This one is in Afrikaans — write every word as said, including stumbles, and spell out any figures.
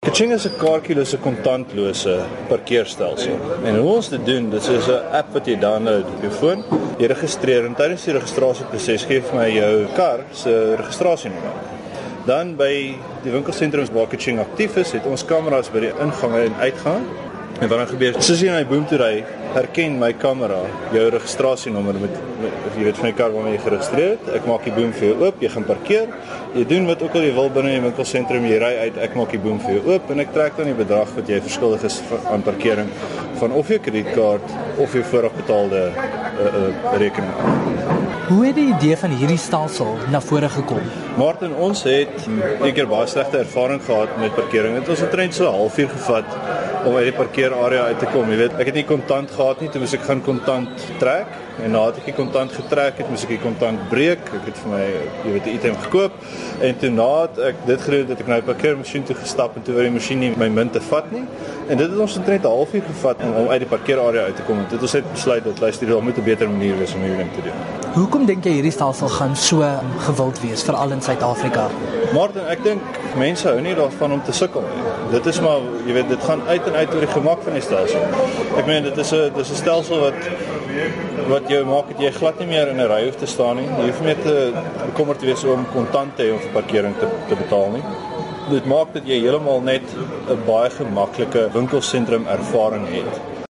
Kaching is 'n kaartjielose kontantlose parkeerstelsel. En hoe ons dit doen, dit is 'n app wat jy download op jou foon. Jy registreer en tydens die registrasieproses gee vir my jou kar se registrasienommer. Dan by die winkelsentrums waar Kaching aktief is, het ons kameras by die ingange en uitgang. En wat dan gebeur, soos jy na die boom toe ry, herken my kamera jou registrasienommer met, met jy weet van die kar waarmee jy geregistreer het. Ek maak die boom vir jou oop, jy gaan parkeer. Jy doen wat ook al jy wil binne die winkelsentrum, jy ry uit, ek maak die boom vir jou oop en ek trek dan die bedrag wat jy verskuldig is aan parkering van of jou kredietkaart of jou voorafbetaalde uh, uh, rekening. Hoe het die idee van hierdie stelsel na vore gekom? Martin, ons het een keer baie slegte ervaring gehad met parkering. Het ons omtrent so 'n halfuur gevat om uit die parkeerarea uit te kom. Jy weet, ek het nie kontant gehad nie, toe moes ek gaan kontant trek. En nadat ek die kontant getrek het, moes ek die kontant breek. Ek het vir my, jy weet, 'n item gekoop. En toe nadat ek dit gedoen het, het ek na die parkeermasjien toe gestap en toe wou die masjien nie my munte vat nie. En dit het ons omtrent 'n halfuur gevat om, om uit die parkeerarea uit te kom. En dit ons het besluit dat luister, daar moet 'n beter manier wees om hierdie ding te doen. Hoekom dink jy hierdie stelsel gaan so gewild wees, veral in Suid-Afrika? Martin, ek dink mense hou nie daarvan om te sukkel nie. Dit is maar, jy weet, dit gaan uit en uit oor die gemak van die stelsel. Ek meen, dit is 'n dit is 'n stelsel wat wat jou maak dat jy glad nie meer in 'n ry hoef te staan nie. Jy hoef nie te bekommerd te wees om kontant te hê om vir parkering te, te betaal nie. Dit maak dat jy heeltemal net 'n baie gemaklike winkelsentrum ervaring het.